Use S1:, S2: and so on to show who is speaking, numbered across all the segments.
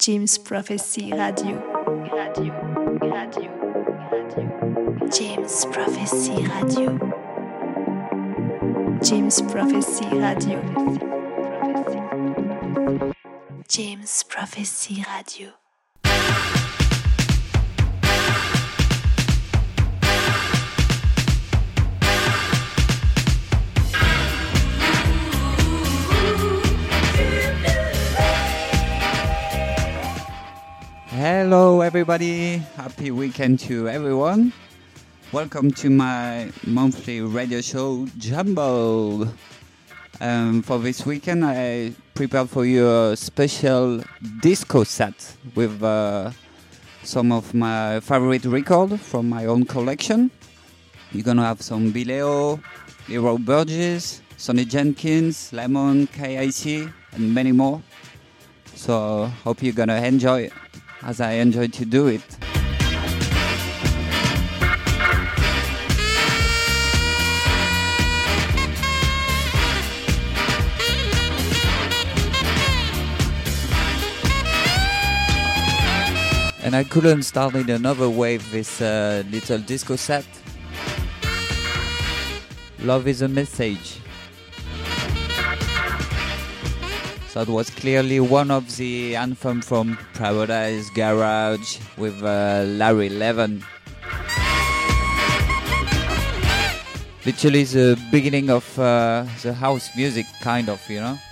S1: James Prophecy Radio. James Prophecy Radio. James Prophecy Radio. James Prophecy Radio.
S2: Hello everybody, happy weekend to everyone. Welcome to my monthly radio show Jumbo. For this weekend I prepared for you a special disco set with some of my favorite records from my own collection. You're gonna have some Bileo, Leroy Burgess, Sonny Jenkins, Lemon, KIC and many more. So hope you're gonna enjoy it as I enjoy to do it. And I couldn't start in another way with this little disco set. Love is a message. So it was clearly one of the anthems from Paradise Garage with Larry Levan. Literally the beginning of the house music, kind of, you know.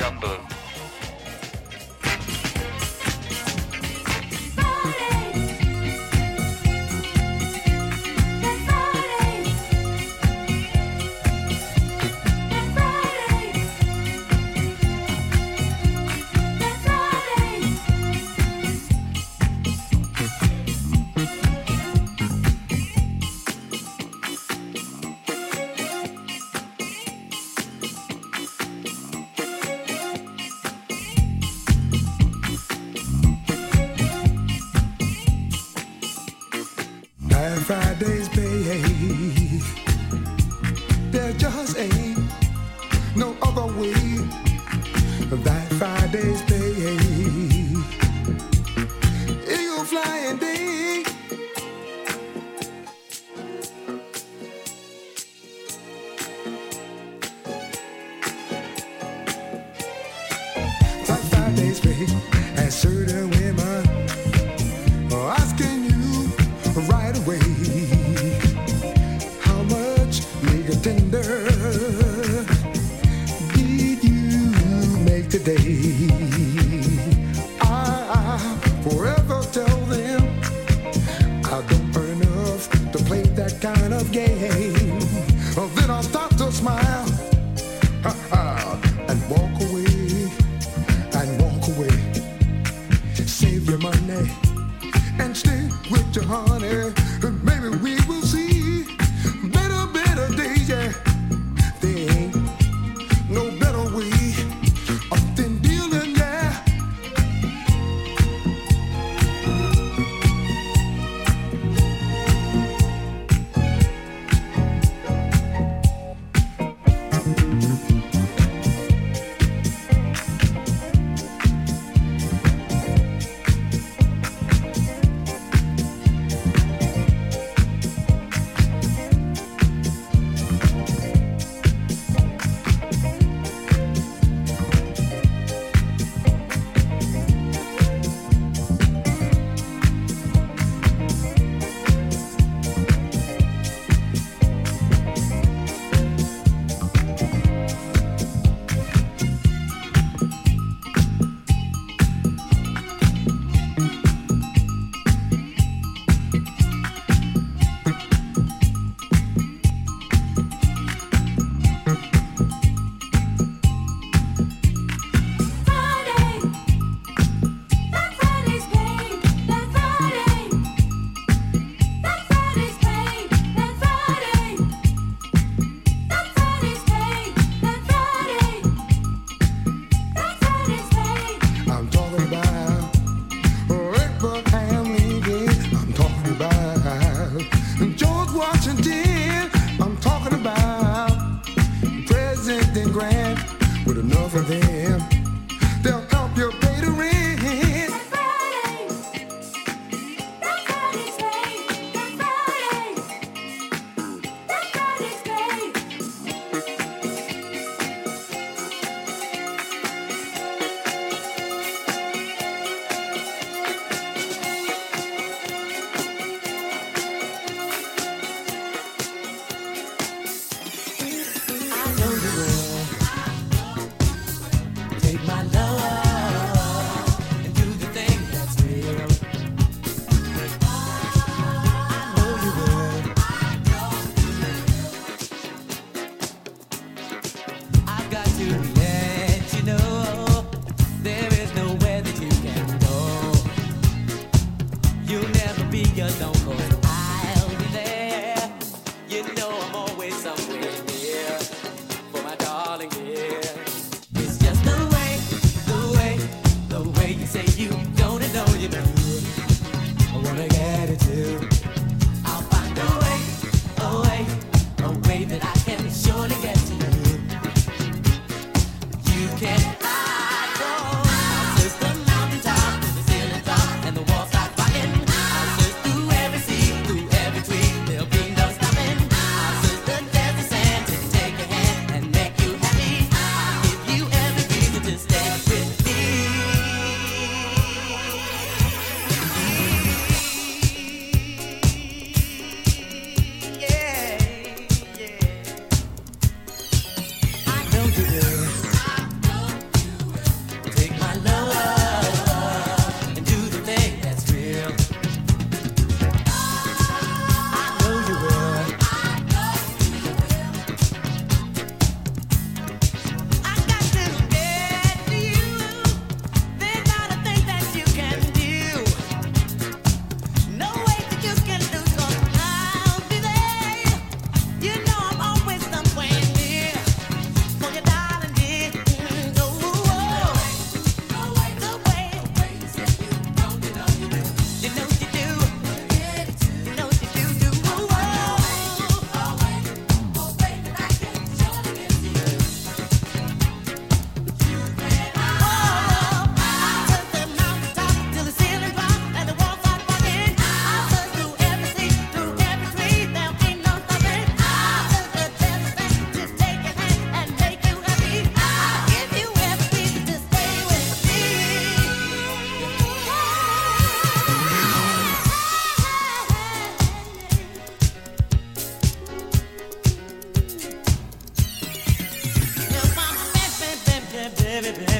S2: Jumbo.
S3: Friday's babe, there just ain't no other way. That Friday's babe, eagle flying day. That Friday's babe has certain women asking you right away. How much nigga tender did you make today? I forever tell them I don't earn enough to play that kind of game. Then I'll start to smile and walk away, and walk away. Save your money and stay with your honey, and maybe we will see better days, yeah. There ain't no better way of than dealing, yeah.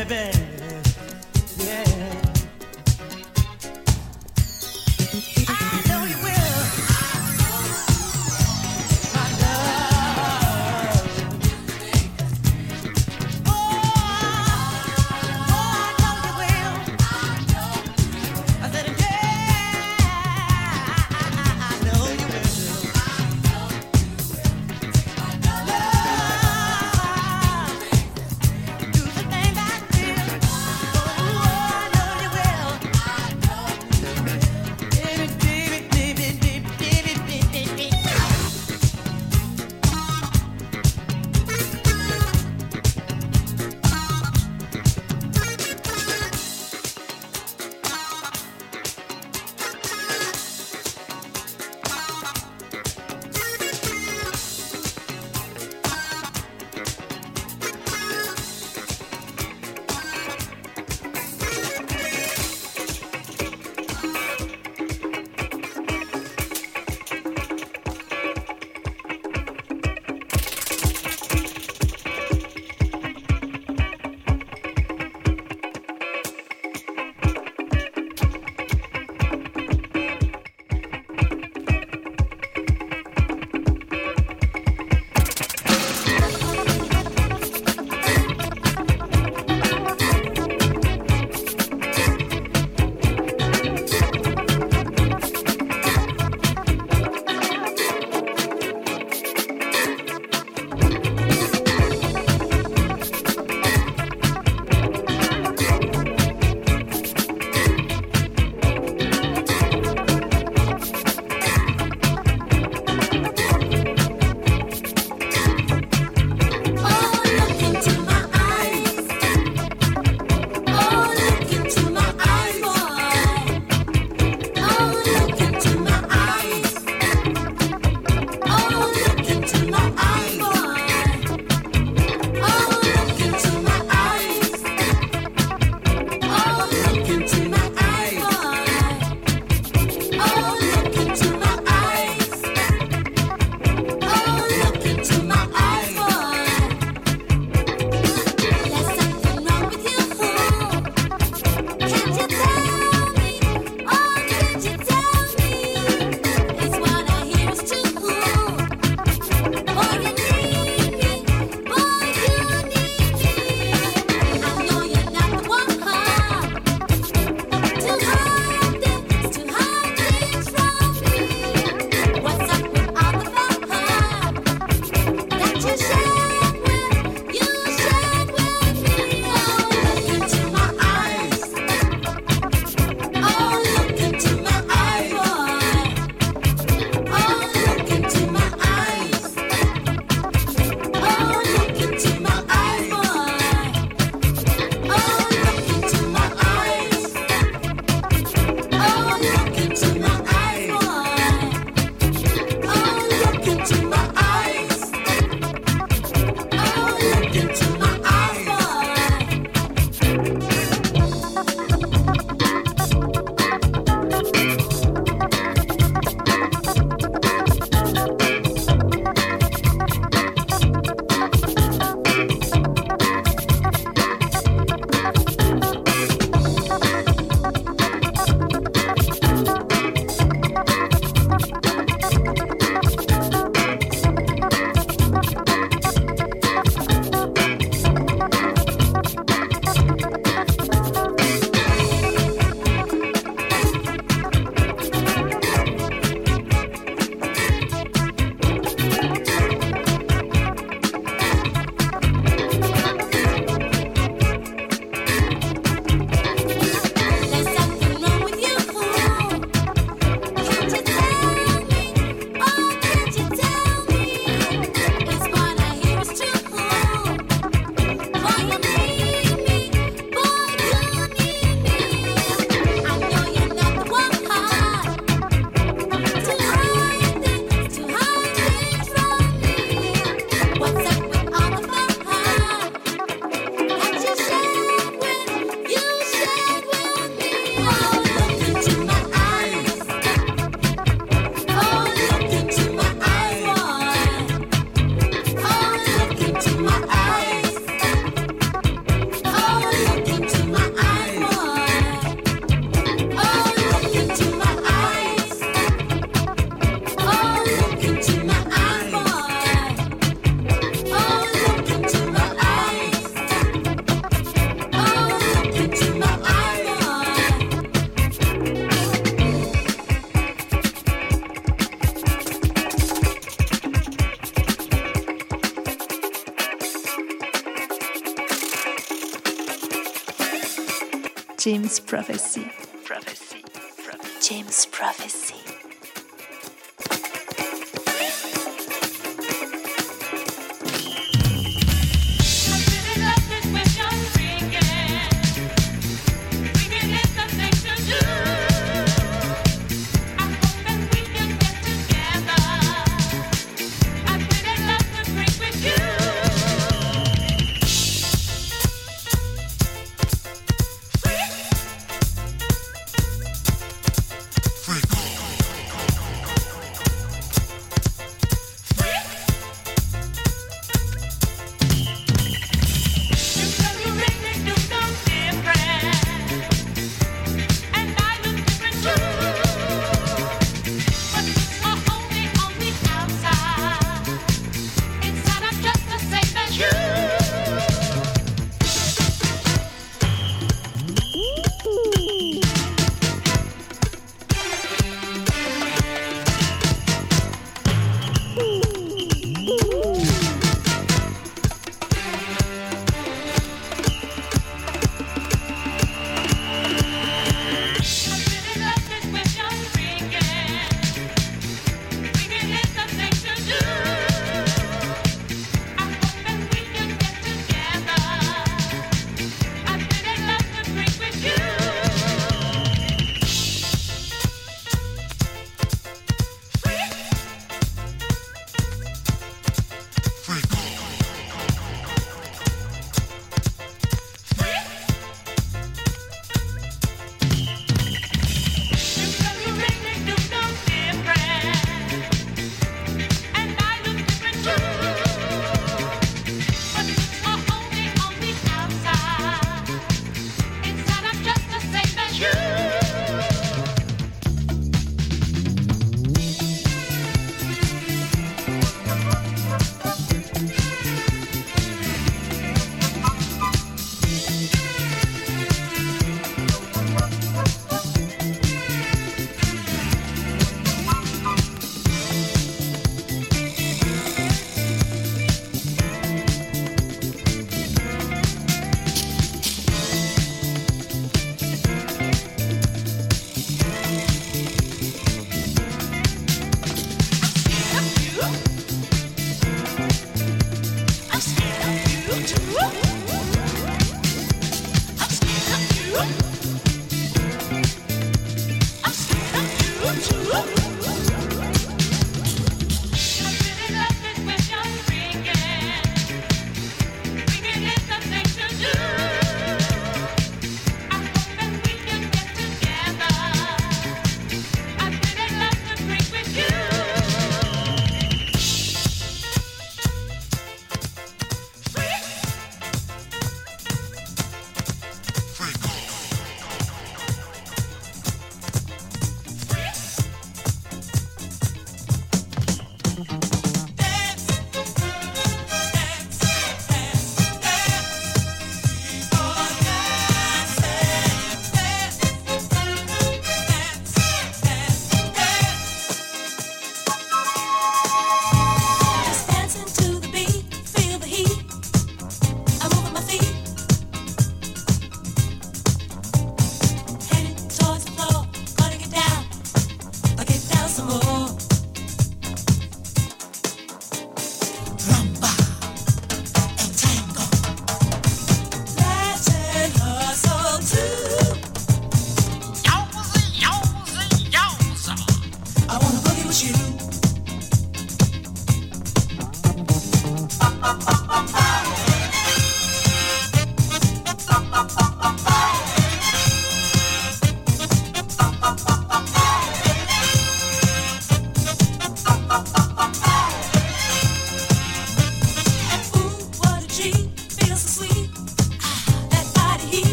S4: baby. Yeah. I know you will. My love. I know you will. I said, yeah, I know you will. Love, do the thing I feel.
S1: James Prophecy. James Prophecy.
S3: Freak on.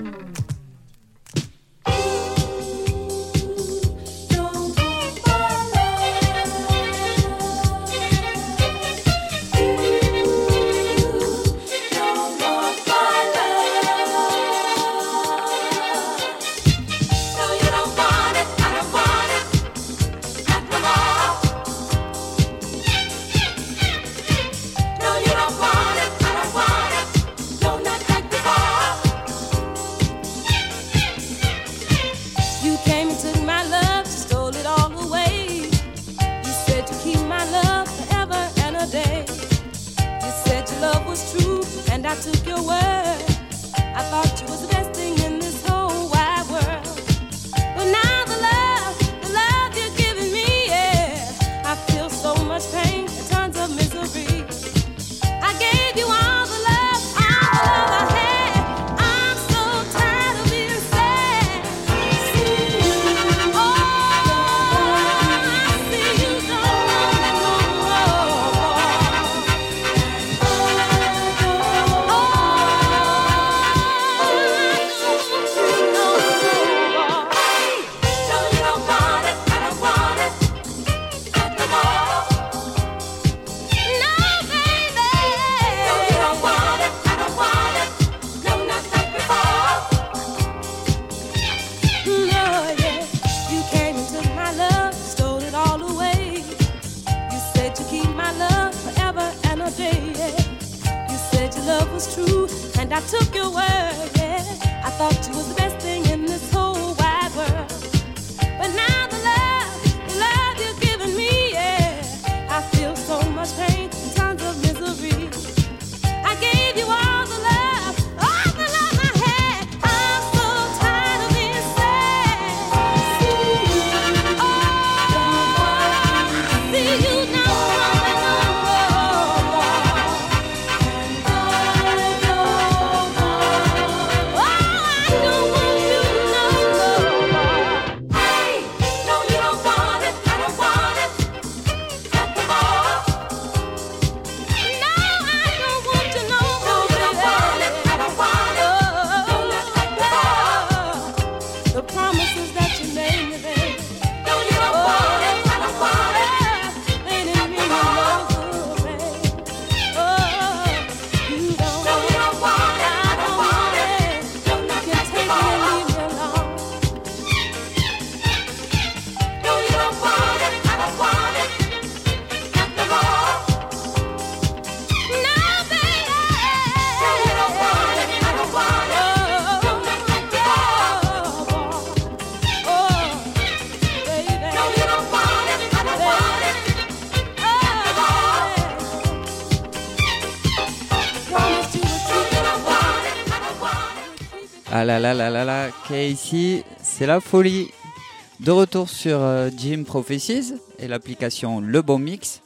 S2: Ah là là là là là, Casey, c'est la folie. De retour sur Jim Prophecies et l'application Le Bon Mix.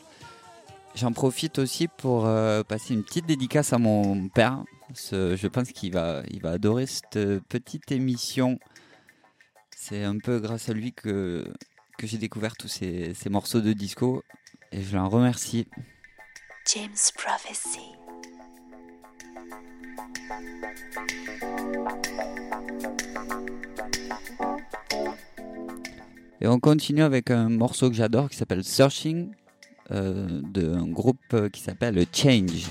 S2: J'en profite aussi pour passer une petite dédicace à mon père. Je pense qu'il va adorer cette petite émission. C'est un peu grâce à lui que j'ai découvert tous ces morceaux de disco et je l'en remercie.
S1: Jim's Prophecy.
S2: Et on continue avec un morceau que j'adore qui s'appelle Searching d'un groupe qui s'appelle Change.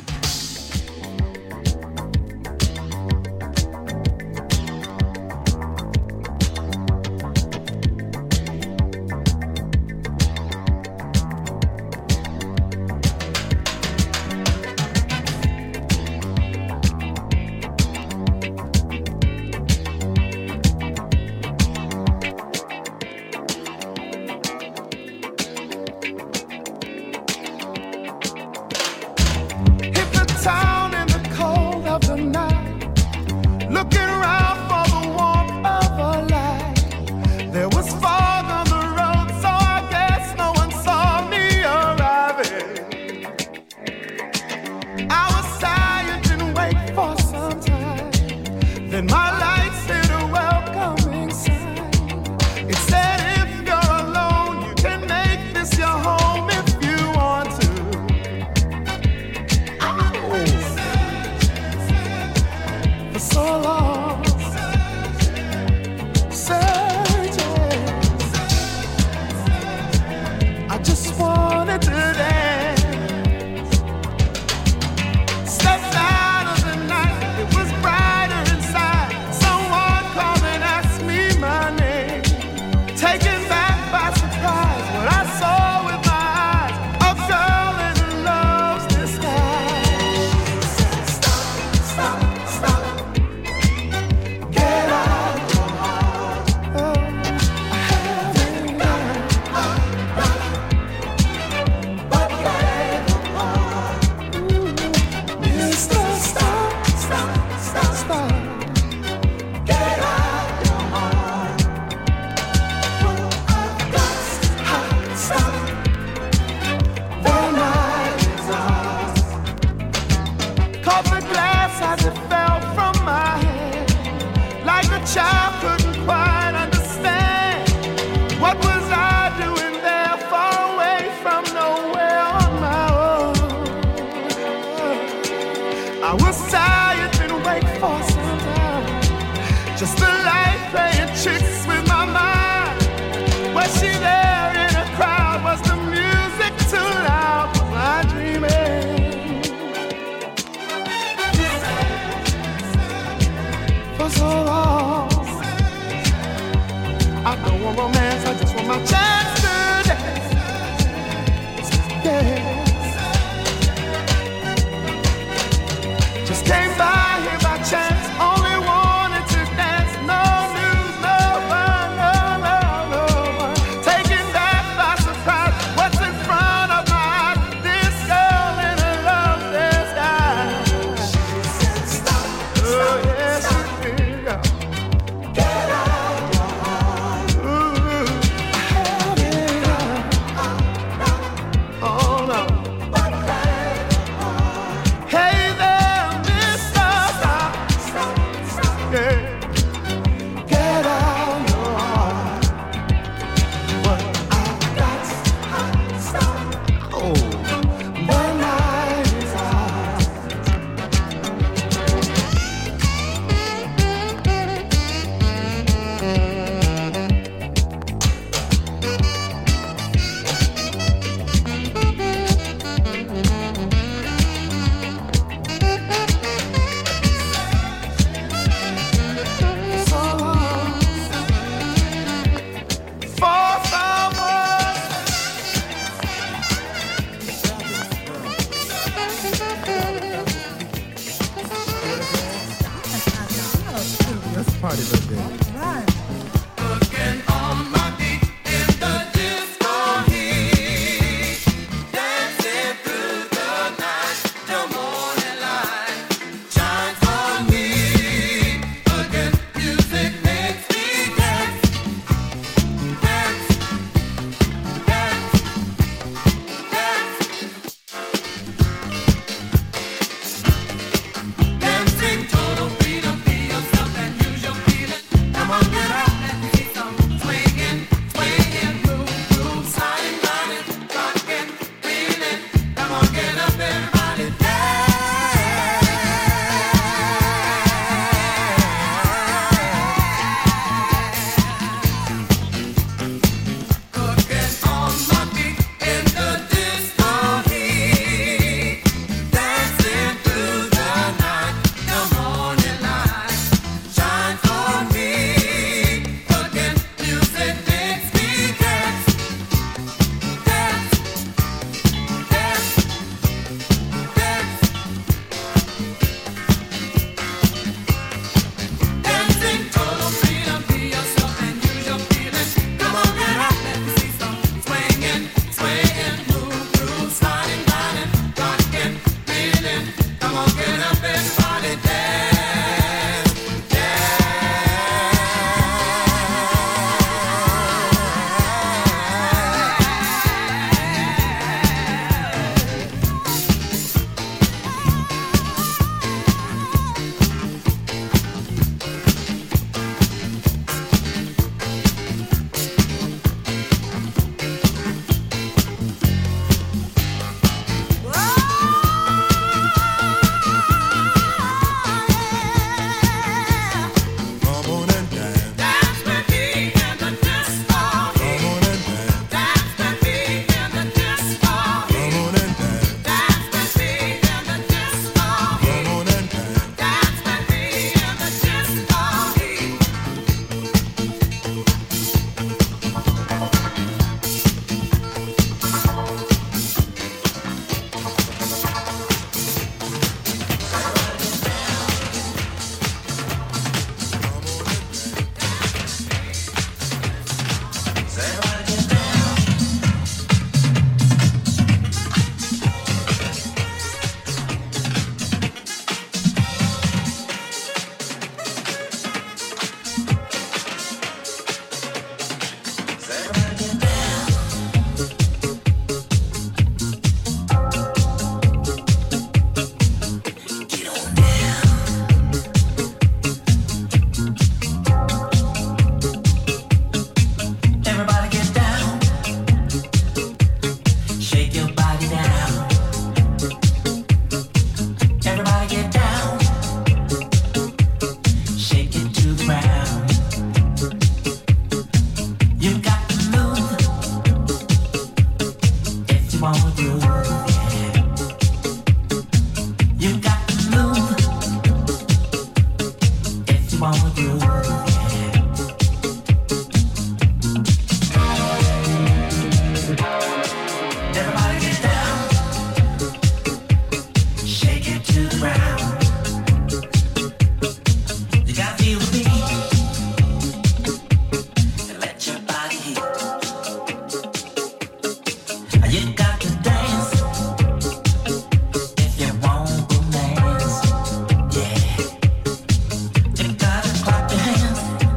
S3: So long Just the light playing tricks with my mind. Was she there in a crowd? Was the music too loud? Was I dreaming? For so long, I don't want romance, I just want my chance to dance. Yeah. Just came by here by chance, only wanted to dance. No news, no fun, no, no, no one. Taken back by surprise, what's in front of my eyes? This girl in a love disguise. Oh yes, she did. Get out your heart. Ooh, oh no. Hey there, Mr. Stop. Yeah. Get out your heart. But I got oh, the night is hot. So long for someone.
S5: Let's party a little bit.
S3: Looking on my feet in the disco heat, dancing through the night, the morning light shines on me. Again, music makes me dance, dance, dance, dance. Dancing total freedom, be yourself and use your feeling. Come on, get out and
S6: Clap your hands.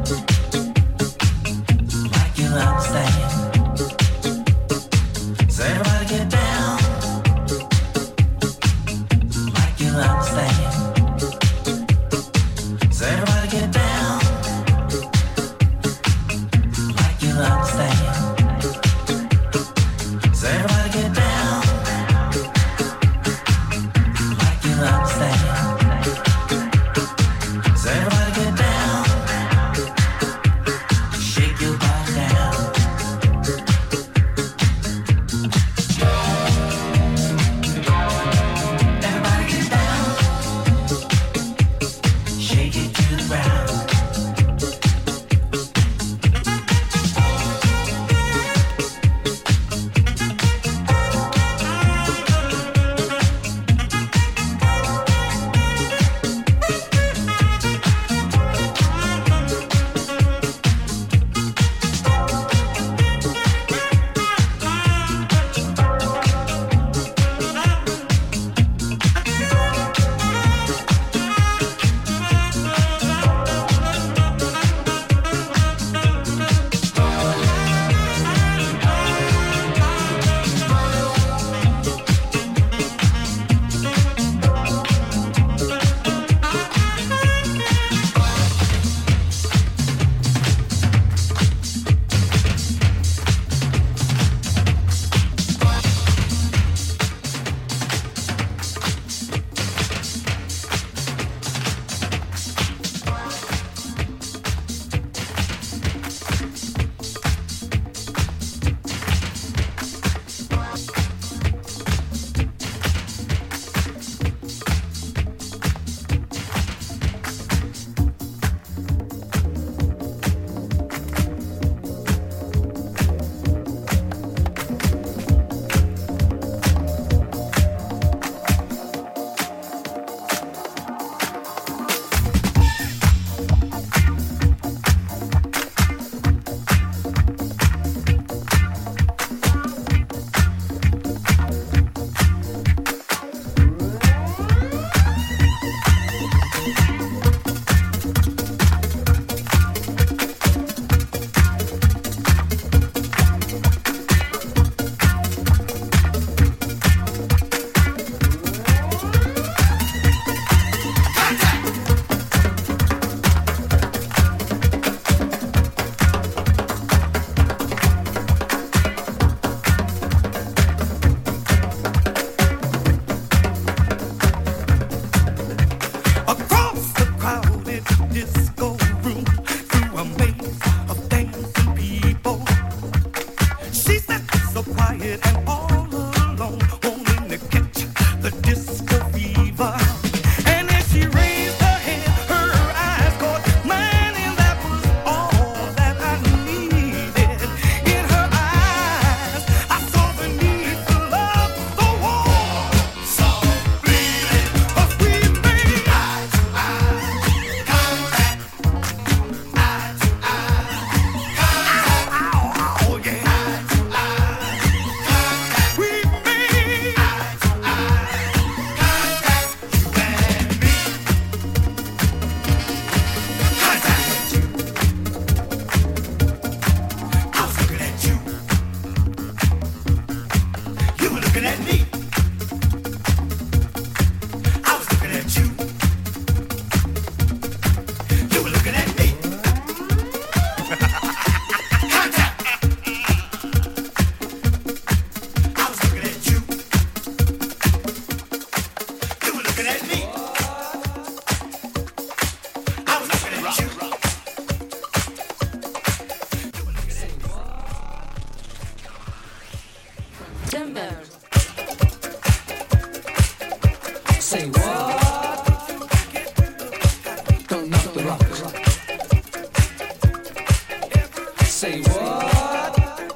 S6: Say what?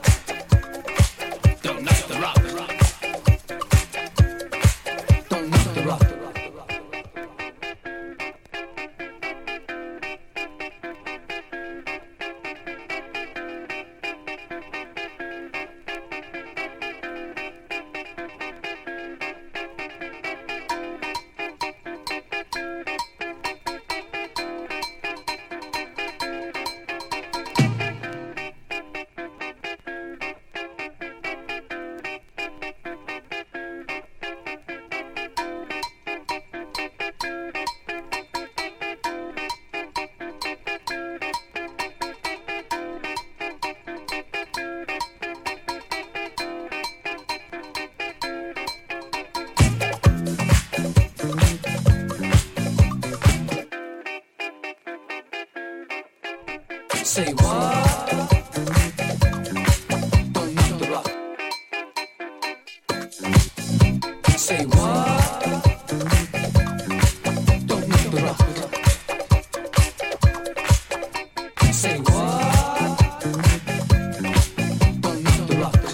S6: Don't knock the rock. Don't knock the rock. Say what? Don't knock the rock. Say what? Don't knock the rock. Say what? Don't knock the rock.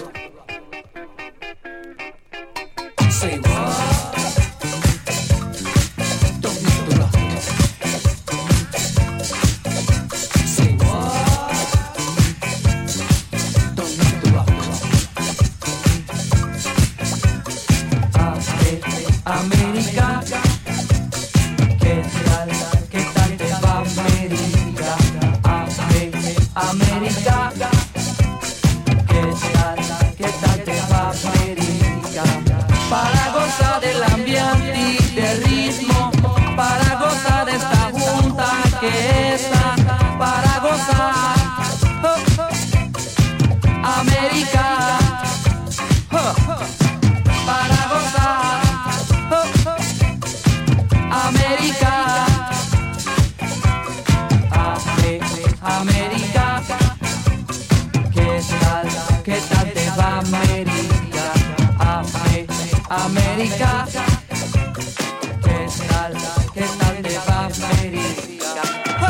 S6: Say what? Don't knock the rock. Say what? Don't knock the rock. América, ¿qué tal te va América? América, ¿qué tal te va América? Para gozar del ambiente y del ritmo, para gozar de esta junta que está, para gozar, América, para gozar, América, América, ¿qué tal te va América? América, ¿qué tal te va América?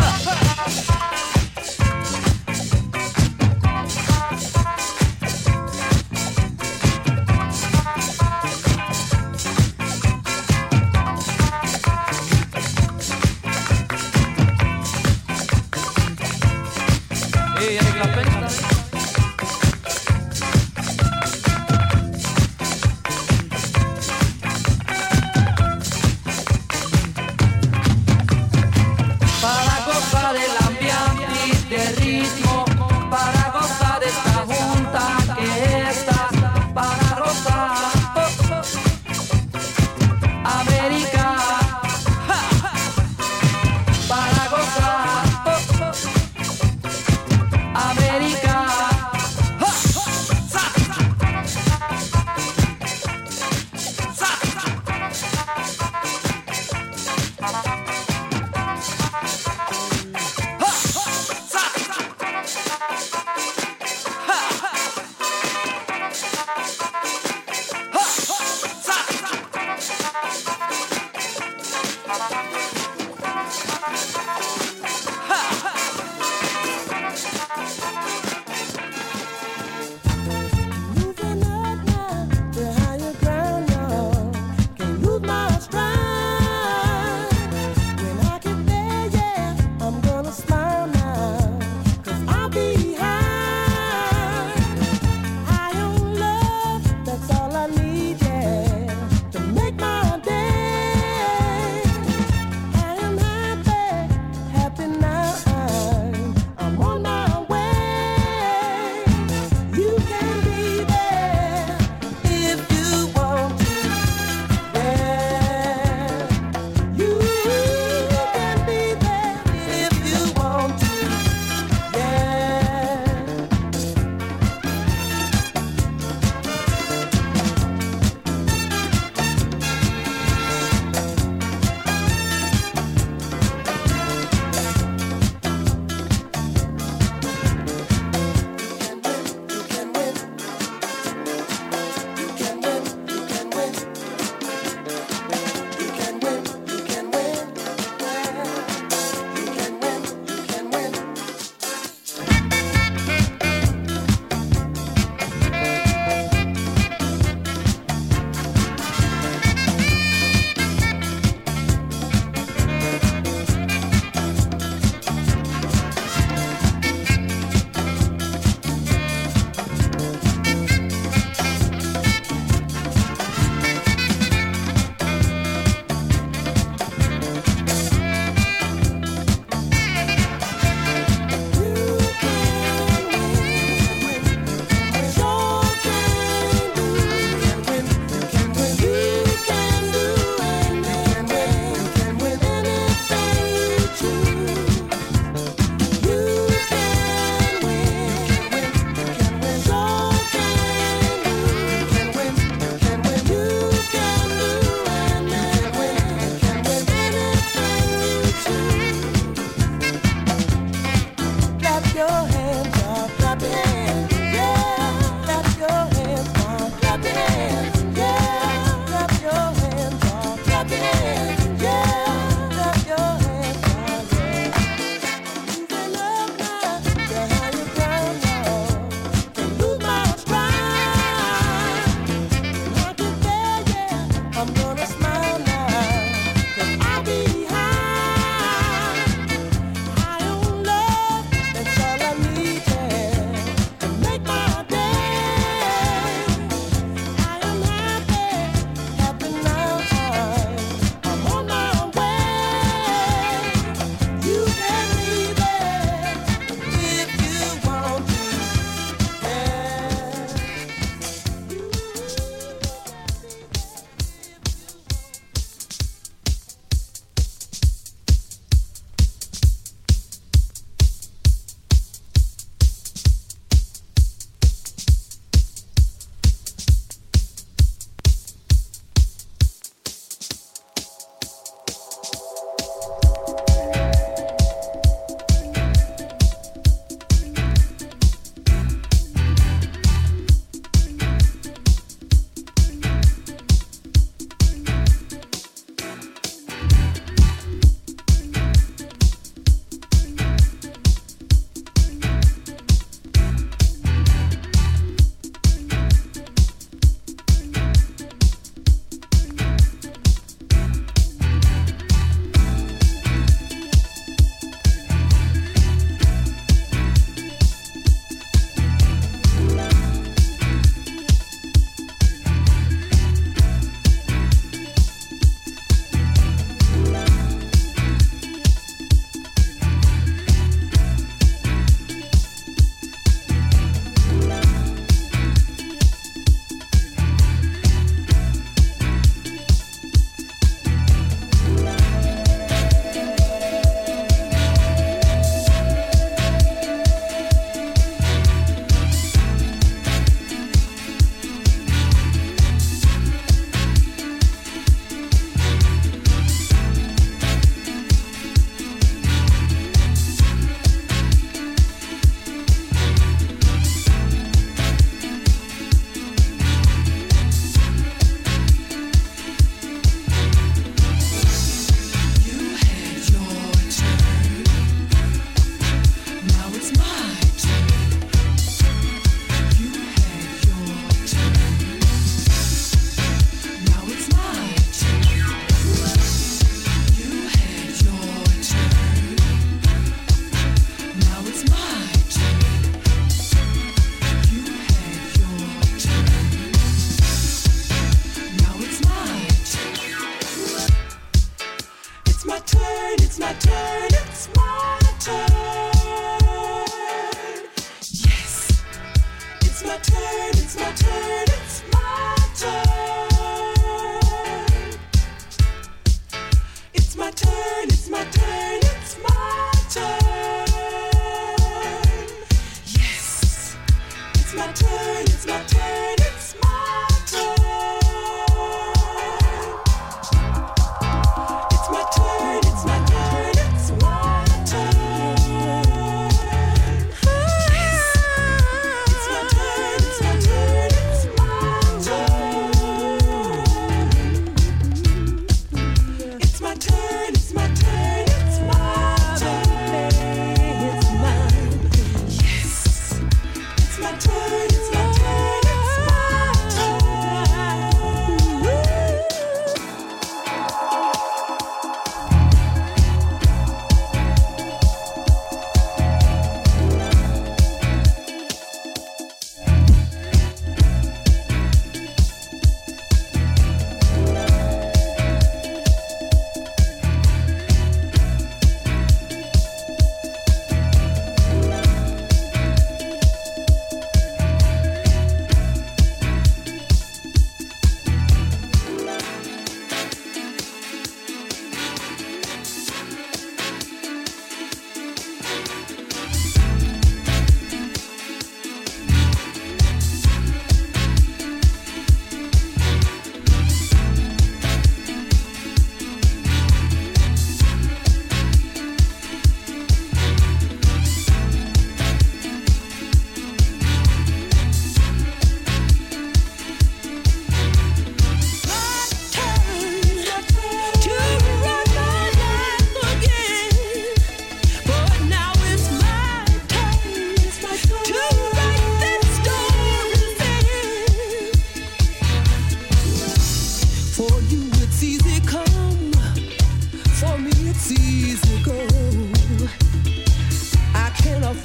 S6: Para gozar del ambiente y del ritmo, para gozar de esta junta que está, para gozar, América, para gozar, América.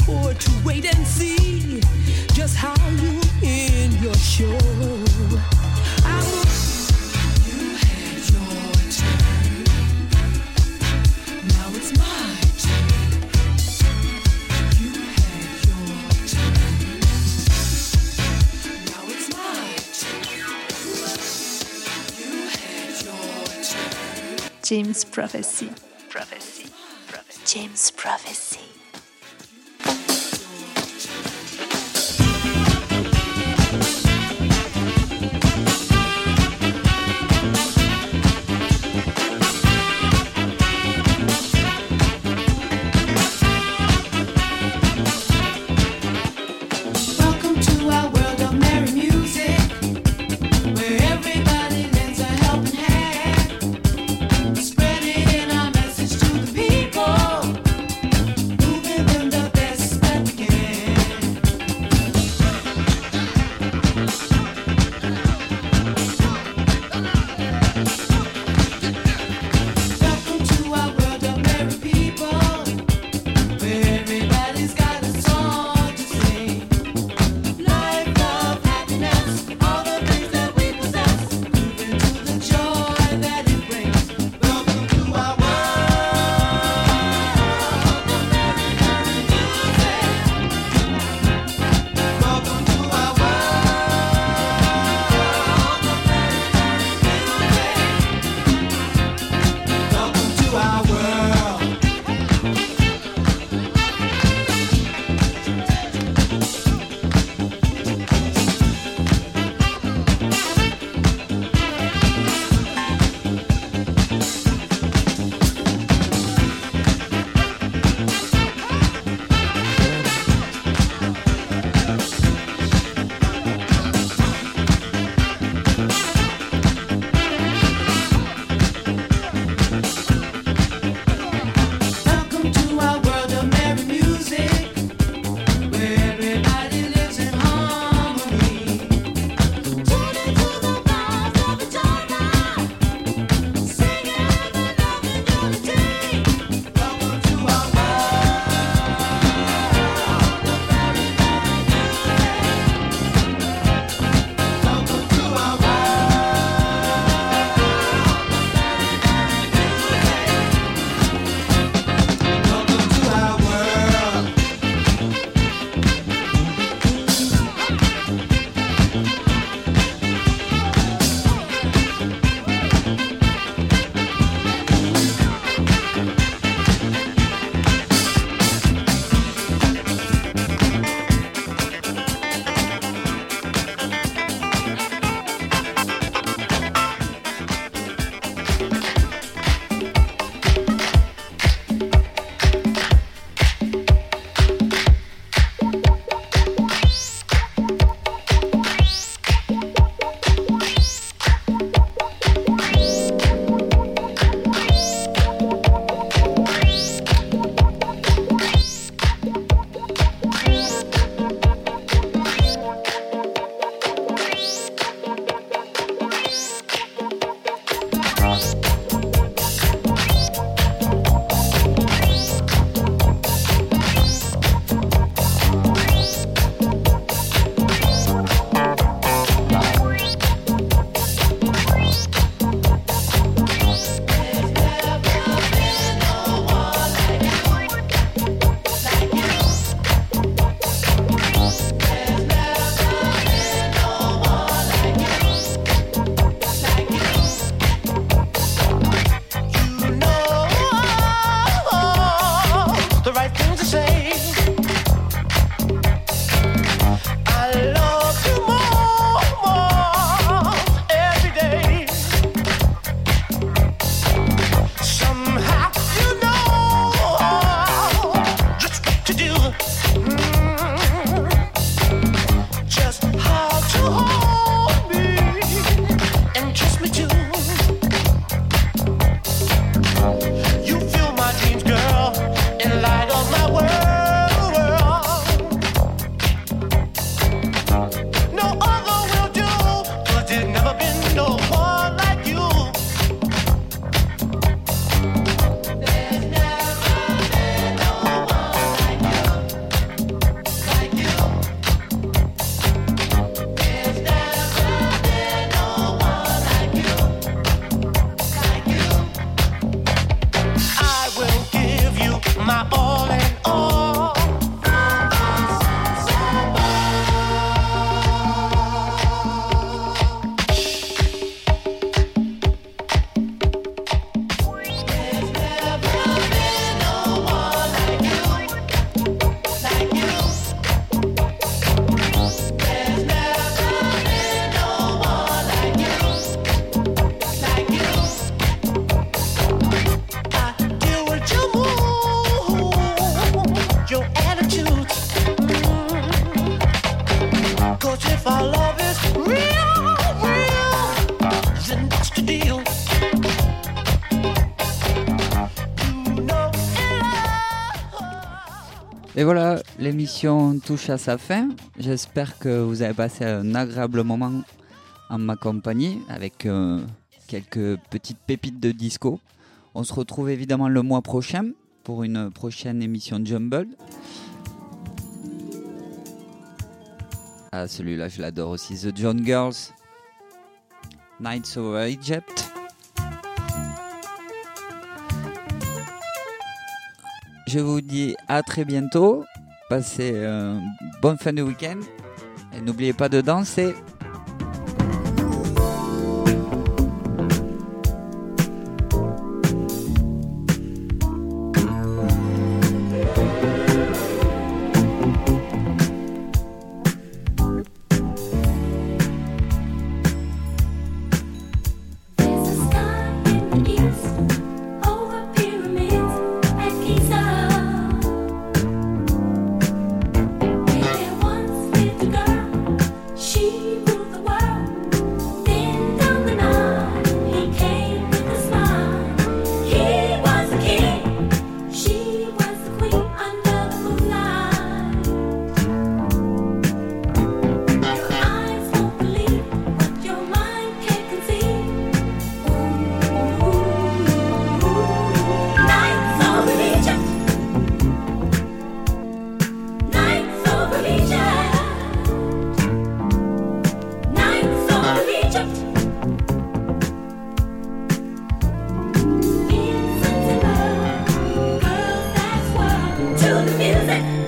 S7: or to wait and see just how you end your show. You had your turn. Now it's my turn. You had your turn. Now it's my turn. You had your turn.
S1: James Prophecy. James Prophecy.
S7: Welcome to our world of merry music, where everybody lends a helping hand, spreading our message to the people, moving them the best that we can. Welcome to our world of merry people, where everybody's got a song to sing. Life, love, happiness, all the things that we possess, moving to the joy that it brings. Welcome to our world of merry, merry music. Welcome to our world of merry, merry music. Welcome to our world. Welcome to our world of merry music, where everybody lives in harmony. Tuning to the vibes of each other, singing the love and unity. Welcome to our world of merry, merry music. Welcome to our world of merry, Welcome to our world. The right thing to say. I love you more every day. Somehow you know just what to do, just how to hold me and kiss me too. You fill my dreams, girl, in light of my world. No other will do, 'cause there's never been no one like you. There's never been no one like you.
S2: Et voilà, l'émission touche à sa fin. J'espère que vous avez passé un agréable moment en ma compagnie avec quelques petites pépites de disco. On se retrouve évidemment le mois prochain pour une prochaine émission Jumble. Ah, celui-là, je l'adore aussi. The John Girls, Nights Over Egypt. Je vous dis à très bientôt. Passez une bonne fin de week-end. Et n'oubliez pas de danser.
S8: There's a sky in the east, over pyramids at Giza. There once lived a girl, she ruled the world. Then down the Nile, he came with a smile. He was the king, she was the queen under the moonlight. Your eyes won't believe what your mind can't conceive. Nights over Egypt, nights over Egypt, nights over Egypt. In Zanzibar, girls dance wild to the music